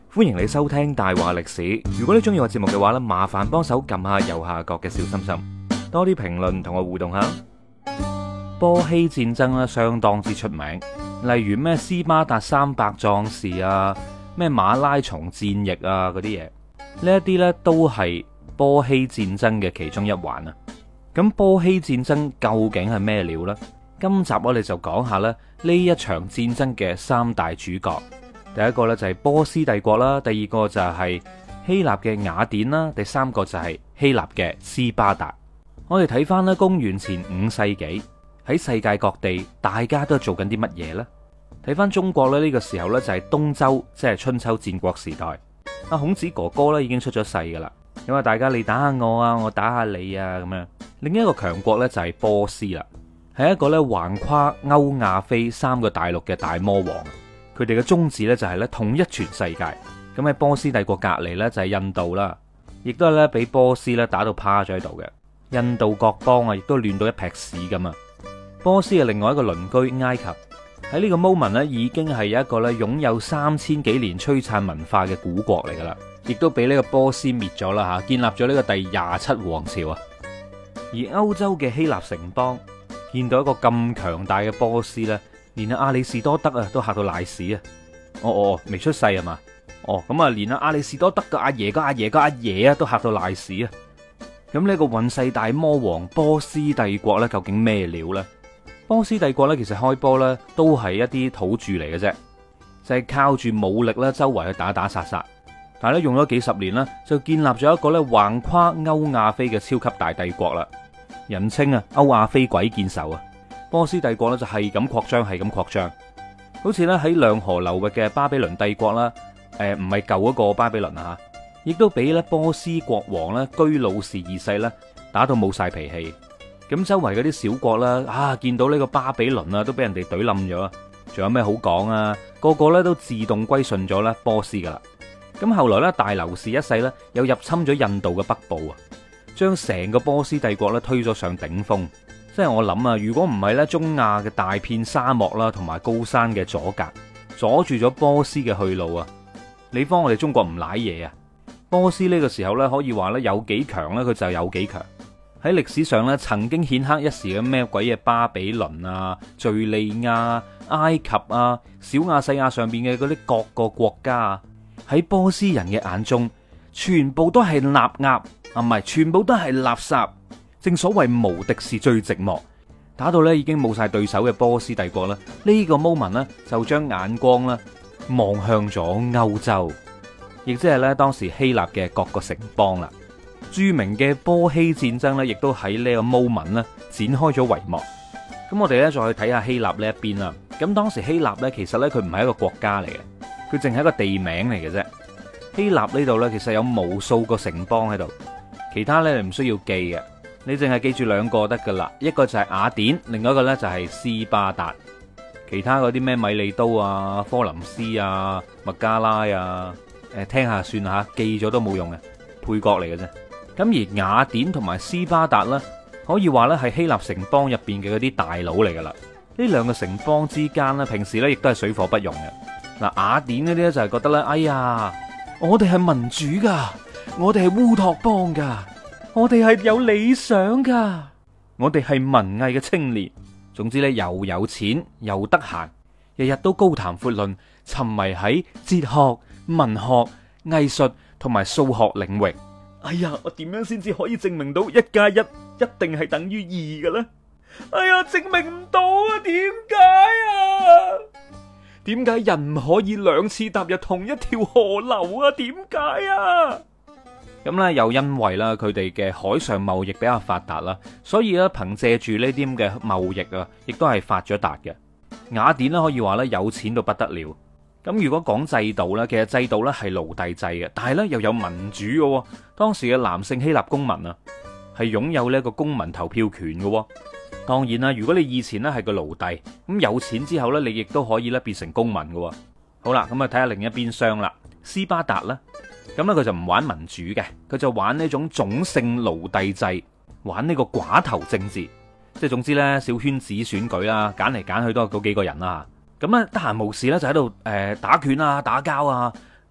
歡迎你收聽大話歷史。如果你中意我節目嘅話呢，麻煩幫手撳下右下角嘅小心心，多啲評論同我互動下。波希戰爭咧相當之出名，例如咩斯巴達300壯士啊，咩馬拉松戰役啊嗰啲嘢，呢一啲呢都係波希戰爭嘅其中一環啊。咁波希戰爭究竟係咩料呢？今集我哋就講下咧呢一場戰爭嘅三大主角。第一個呢就係波斯帝國啦，第二個就係希臘嘅雅典啦，第三個就係希臘嘅斯巴達。我哋睇翻咧公元前5世紀，喺世界各地大家都做緊啲乜嘢呢？睇翻中國咧呢個時候呢，就係東周，即係春秋戰國時代。阿孔子哥哥咧已經出咗世噶啦，因為大家你打下我啊，我打下你啊咁樣。另一個強國呢，就係波斯啦，係一個咧橫跨歐亞非3個大陸嘅大魔王。佢哋嘅宗旨呢，就係咧統一全世界。咁喺波斯帝國隔籬呢，就係印度啦，亦都係咧俾波斯咧打到趴咗喺度嘅。印度各邦啊，亦都亂到一劈屎咁啊！波斯嘅另外一個鄰居埃及喺呢個 moment 呢，已經係一個咧擁有3000幾年璀璨文化嘅古國嚟噶啦，亦都俾呢個波斯滅咗啦吓，建立咗呢個第27王朝啊！而歐洲嘅希臘城邦見到一個咁強大嘅波斯呢，連阿里士多德啊都嚇到賴屎啊！未出世啊嘛？咁啊，連阿里士多德嘅阿爺嘅阿爺嘅阿爺啊都嚇到賴屎啊！咁呢個運世大魔王波斯帝國呢，究竟咩料呢？波斯帝國呢，其實開波呢都係一啲土著嚟嘅啫，就係靠住武力咧周圍去打打殺殺，但係咧用咗幾十年啦，就建立咗一個咧橫跨歐亞非嘅超級大帝國啦，人稱啊歐亞非鬼見愁啊！波斯帝國咧就係咁擴張，係咁擴張，好似咧喺兩河流域嘅巴比倫帝國啦，唔係舊嗰個巴比倫啊，亦都俾咧波斯國王咧居魯士二世咧打到冇晒脾氣。咁周圍嗰啲小國啦，見到呢個巴比倫啊，都俾人哋懟冧咗，仲有咩好講啊？個個咧都自動歸順咗咧波斯噶啦。咁後來咧大流士一世咧又入侵咗印度嘅北部啊，將成個波斯帝國咧推咗上頂峰。即係我諗啊，如果唔係咧中亞嘅大片沙漠啦，同埋高山嘅阻隔，阻住咗波斯嘅去路啊，你方我哋中國唔舐嘢啊！波斯呢個時候咧可以話咧有幾強咧，佢就有幾強。喺歷史上咧曾經顯赫一時嘅咩鬼嘢巴比倫啊、敘利亞、埃及啊、小亞細亞上邊嘅嗰啲各個國家啊，喺波斯人嘅眼中，全部都係納鴨啊，唔係，全部都係垃圾。正所謂無敵是最寂寞，打到咧已經冇晒對手嘅波斯帝國啦，呢個 moment 呢，就將眼光咧望向咗歐洲，亦即係咧當時希臘嘅各個城邦啦。著名嘅波希戰爭咧，亦都喺呢個 moment 咧展開咗帷幕。咁我哋咧再去睇下希臘呢一邊啦。咁當時希臘咧其實咧佢唔係一個國家嚟嘅，佢淨係一個地名嚟嘅啫。希臘呢度咧其實有無數個城邦喺度，其他咧你唔需要記嘅。你淨係記住兩個得噶啦，一個就係雅典，另外一個呢就係斯巴達。其他嗰啲咩米利都啊、科林斯啊、麥加拉啊，聽下算吓，記咗都冇用嘅，配角嚟嘅啫。咁而雅典同埋斯巴達呢，可以話呢係希臘城邦入邊嘅嗰啲大佬嚟噶啦。呢兩個城邦之間呢，平時呢亦都係水火不容嘅。嗱，雅典嗰啲呢，就係覺得呢：「哎呀，我哋係民主噶，我哋係烏托邦噶。我哋係有理想噶，我哋係文藝嘅青年。總之咧，又有錢又得閒，日日都高談闊論，沉迷喺哲學、文學、藝術同埋數學領域。哎呀，我點樣先至可以證明到1+1一定係等於2嘅咧？哎呀，證明唔到啊！點解啊？點解人唔可以2次踏入同一條河流啊？點解啊？咁咧又因為啦，佢哋嘅海上貿易比較發達啦，所以咧憑借住呢啲咁嘅貿易啊，亦都係發咗達嘅。雅典咧可以話咧有錢到不得了。咁如果講制度咧，其實制度咧係奴隸制嘅，但係咧又有民主嘅。當時嘅男性希臘公民啊，係擁有呢一個公民投票權嘅。當然啦，如果你以前咧係個奴隸，咁有錢之後咧，你亦都可以咧變成公民嘅。好啦，咁啊睇下另一邊廂啦，斯巴達啦。咁咧佢就唔玩民主嘅，佢就玩呢種種姓奴隸制，玩呢個寡頭政治，即係總之呢，小圈子選舉啦，揀嚟揀去都係嗰幾個人啦。咁咧得閒無事咧就喺度打拳啊、打交啊，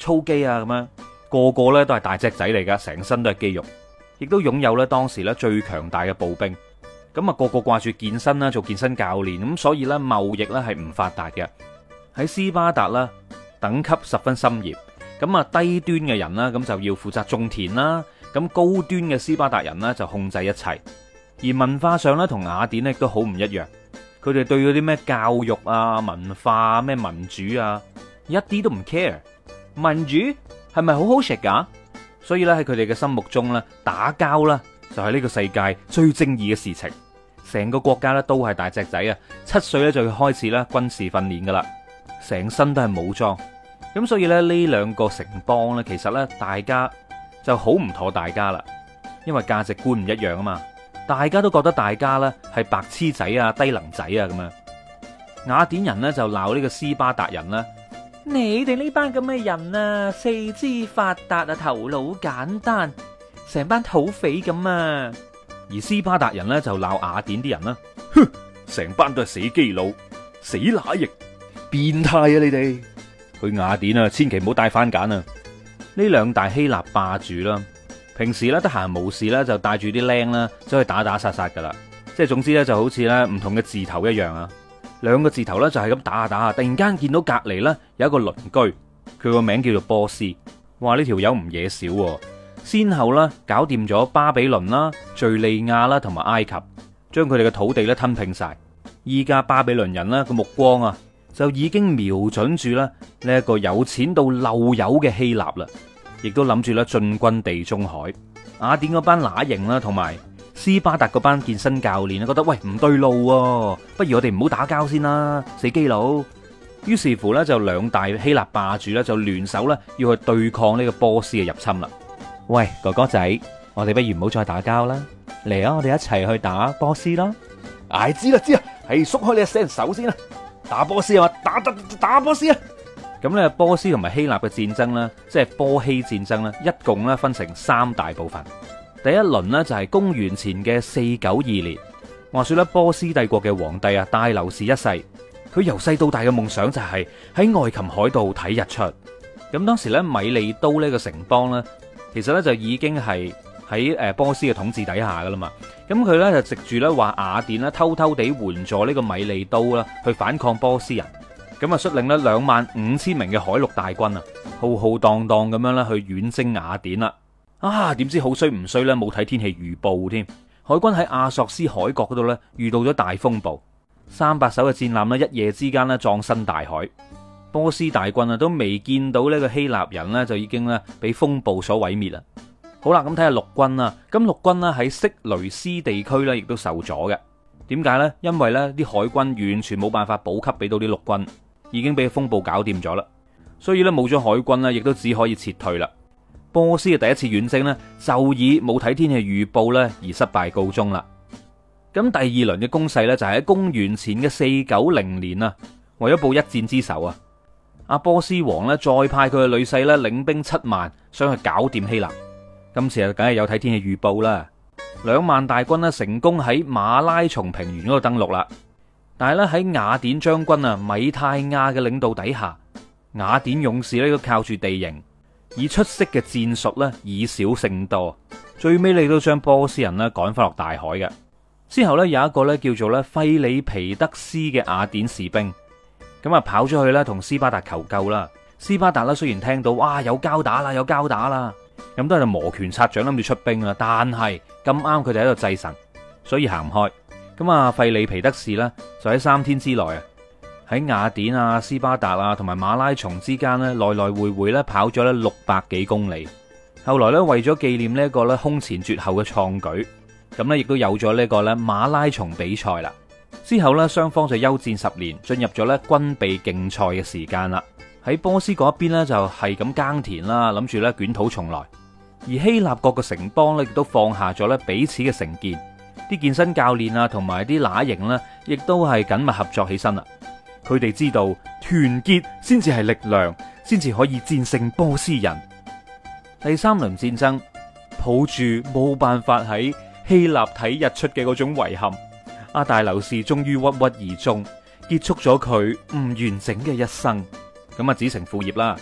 操肌啊咁樣，個個咧都係大隻仔嚟噶，成身都係肌肉，亦都擁有咧當時咧最強大嘅步兵。咁啊個個掛住健身啦，做健身教練，咁所以咧貿易咧係唔發達嘅。喺斯巴達啦，等級十分森嚴，咁啊低端嘅人啦，咁就要負責種田啦，咁高端嘅斯巴達人呢，就控制一切。而文化上咧同雅典咧都好唔一樣，佢哋對嗰啲咩教育啊、文化咩民主啊，一啲都唔 care。民主係咪好好食噶？所以咧喺佢哋嘅心目中咧，打交啦就係呢個世界最正義嘅事情。成個國家咧都係大隻仔啊，7歲咧就要開始咧軍事訓練噶啦，成身都係武裝。咁所以咧呢兩個城邦咧，其實咧大家就好唔妥大家啦，因為價值觀唔一樣啊嘛。大家都覺得大家咧係白痴仔啊、低能仔啊咁樣。雅典人呢就鬧呢個斯巴達人啦，你哋呢班咁嘅人啊，四肢發達啊，頭腦簡單，成班土匪咁啊。而斯巴達人呢就鬧雅典啲人啦，哼，成班都係死基佬、死乸翼、變態啊你哋！去雅典啊，千祈唔好帶番梘啊！呢兩大希臘霸主啦。平時咧得閒無事咧就帶住啲僆啦，走去打打殺殺噶啦，即係總之咧就好似咧唔同嘅字頭一樣啊，兩個字頭咧就係咁打下打下，突然間見到隔籬咧有一個鄰居，佢個名叫做波斯，話呢條友唔嘢少，先後咧搞掂咗巴比倫啦、敘利亞啦同埋埃及，將佢哋嘅土地咧吞併晒。依家巴比倫人咧個目光啊就已經瞄準住咧呢一個有錢到漏油嘅希臘啦。亦都諗住咧進軍地中海。雅典嗰班乸型啦，同埋斯巴達嗰班健身教練覺得喂唔對路喎，不如我哋唔好打交先啦，死基佬。於是乎咧就兩大希臘霸主咧就聯手咧要去對抗呢個波斯嘅入侵啦。喂哥哥仔，我哋不如唔好再打交啦，嚟啊，我哋一齊去打波斯啦。唉，知啦，係縮開你隻手先啦，打波斯啊嘛，打波斯啊！咁咧，波斯同埋希臘嘅戰爭咧，即係波希戰爭咧，一共咧分成3大部分。第一輪呢，就係公元前嘅492年，話說咧波斯帝國嘅皇帝啊大流士一世，佢由細到大嘅夢想就係喺愛琴海度睇日出。咁當時咧米利都呢個城邦咧，其實咧就已經係喺波斯嘅統治底下噶啦嘛。咁佢咧就藉住咧話雅典咧偷偷地援助呢個米利都啦，去反抗波斯人。咁啊，率領咧25000名嘅海陸大軍啊，浩浩蕩蕩咁樣咧去遠征雅典啦。啊，點知好衰唔衰咧？冇睇天氣預報添，海軍喺亞索斯海角嗰度咧遇到咗大風暴，300艘嘅戰艦咧一夜之間咧葬身大海。波斯大軍啊都未見到呢個希臘人咧，就已經咧俾風暴所毀滅啦。好啦，咁睇下陸軍啦。咁陸軍咧喺色雷斯地區咧亦都受阻嘅。點解呢？因為咧啲海軍完全冇辦法補給俾到啲陸軍。已經俾風暴搞掂咗啦，所以咧冇咗海軍咧，亦都只可以撤退啦。波斯嘅第一次遠征呢，就以冇睇天氣預報咧而失敗告終啦。咁第二輪嘅攻勢呢，就係喺公元前嘅490年啊，為咗報一戰之仇啊，阿波斯王呢，再派佢嘅女婿咧領兵7萬，想去搞掂希臘。今次啊，梗係有睇天氣預報啦，2萬大軍呢，成功喺馬拉松平原嗰度登陸啦。但係咧喺雅典將軍啊米泰亞嘅領導底下，雅典勇士咧都靠住地形，以出色嘅戰術咧以少勝多，最尾你都將波斯人咧趕翻落大海嘅。之後咧有一個咧叫做咧費里皮德斯嘅雅典士兵，咁啊跑咗去咧同斯巴達求救啦。斯巴達咧雖然聽到哇有交打啦，咁都係就摩拳擦掌諗住出兵啦，但係咁啱佢哋喺度祭神，所以行唔開。咁啊，費里皮德士呢，就喺3天之內啊，喺雅典啊、斯巴達啊同埋馬拉松之間呢，來來回回咧跑咗咧600幾公里。後來咧為咗紀念呢一個咧空前絕後嘅創舉，咁咧亦都有咗呢個咧馬拉松比賽啦。之後咧雙方就休戰10年，進入咗咧軍備競賽嘅時間啦。喺波斯嗰一邊呢，就係咁耕田啦，諗住咧捲土重來。而希臘各個城邦咧亦都放下咗咧彼此嘅成見。啲健身教練啊，同埋啲乸型呢，亦都係緊密合作起身啦。佢哋知道團結先至係力量，先至可以戰勝波斯人。第3輪戰爭，抱住冇辦法喺希臘睇日出嘅嗰種遺憾，阿大流士終於鬱鬱而終，結束咗佢唔完整嘅一生。咁啊，子承父業啦。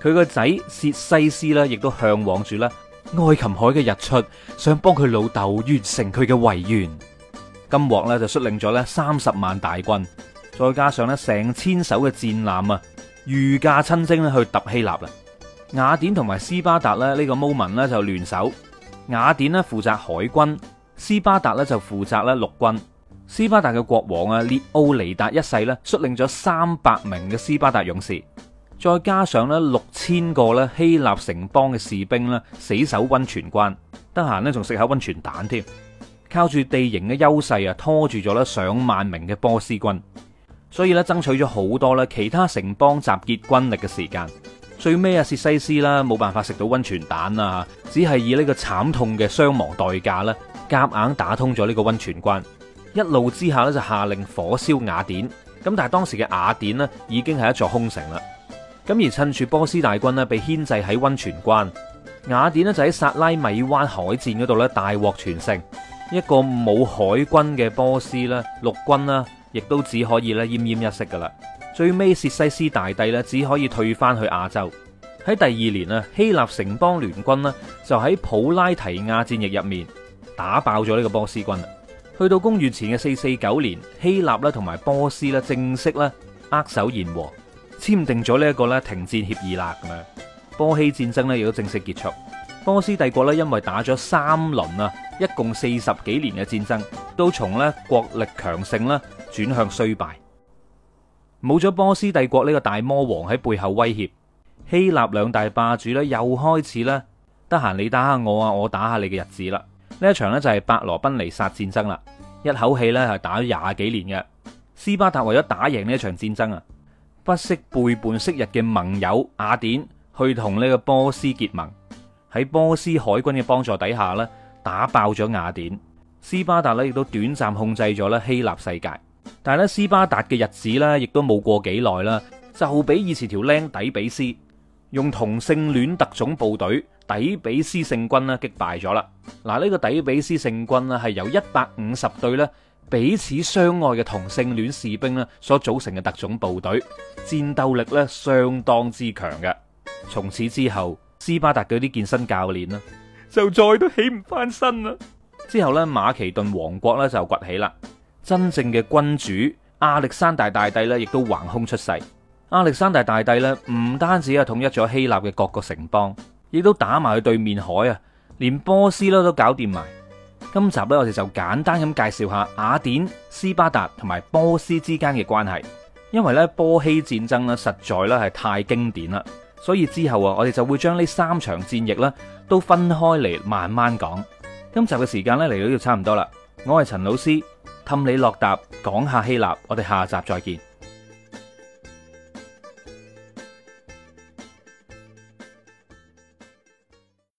佢個仔薛西斯咧，亦都向往住咧愛琴海嘅日出，想幫佢老豆完成佢嘅遺願。金獲咧就率領咗咧30萬大軍，再加上咧成千艘嘅戰艦啊，御駕親征咧去揼希臘啦。雅典同埋斯巴達咧呢個 moment 咧就聯手，雅典咧負責海軍，斯巴達咧就負責咧陸軍。斯巴達嘅國王啊列奧尼達一世咧率領咗300名嘅斯巴達勇士，再加上咧6000個咧希臘城邦嘅士兵咧死守溫泉關，得閒咧仲食下溫泉蛋添，靠住地形嘅優勢啊拖住咗咧上萬名嘅波斯軍，所以咧爭取咗好多咧其他城邦集結軍力嘅時間。最尾啊薛西斯啦冇辦法食到溫泉蛋啊，只係以呢個慘痛嘅傷亡代價咧夾硬打通咗呢個溫泉關。一怒之下咧就下令火燒雅典，咁但係當時嘅雅典呢已經係一座空城啦。咁而趁住波斯大軍呢被牽制喺溫泉關，雅典呢就喺薩拉米灣海戰嗰度咧大獲全勝。一個冇海軍嘅波斯咧陸軍啦，亦都只可以咧奄奄一息噶啦。最尾薛西斯大帝咧只可以退翻去亞洲。喺第2年啊，希臘城邦聯軍呢就喺普拉提亞戰役入面打爆咗呢個波斯軍。去到公元前嘅449年，希臘咧同埋波斯咧正式咧握手言和，簽訂咗呢一個咧停戰協議啦。咁樣波希戰爭咧亦都正式結束。波斯帝國咧因為打咗3輪啊，一共40幾年嘅戰爭，都從咧國力強盛啦轉向衰敗。冇咗波斯帝國呢個大魔王喺背後威脅，希臘2大霸主咧又開始咧得閒你打下我啊，我打下你嘅日子啦。呢一場呢就係伯羅奔尼撒戰爭啦，一口氣呢係打咗20幾年嘅。斯巴達為咗打贏呢一場戰爭啊，不惜背叛昔日嘅盟友雅典，去同呢個波斯結盟。喺波斯海軍嘅幫助底下呢，打爆咗雅典。斯巴達呢亦都短暫控制咗咧希臘世界。但係咧斯巴達嘅日子呢亦都冇過幾耐啦，就俾以前條僆底比斯用同性戀特種部隊底比斯聖軍咧擊敗咗啦。嗱，呢個底比斯聖軍咧係由150隊咧彼此相愛嘅同性戀士兵咧所組成嘅特種部隊，戰鬥力咧相當之強嘅。從此之後，斯巴達嗰啲健身教練啦就再都起唔翻身啦。之後咧馬其頓王國咧就崛起啦，真正嘅君主亞歷山大大帝咧亦都橫空出世。亞歷山大大帝咧唔單止係統一咗希臘嘅各個城邦，亦都打埋去對面海啊，連波斯咧都搞掂埋。今集咧我哋就簡單咁介紹下雅典、斯巴達同埋波斯之間嘅關係，因為咧波希戰爭咧實在咧係太經典啦，所以之後啊我哋就會將呢3場戰役咧都分開嚟慢慢講。今集嘅時間咧嚟到呢度差唔多啦，我係陳老師，氹你落答講下希臘，我哋下集再見。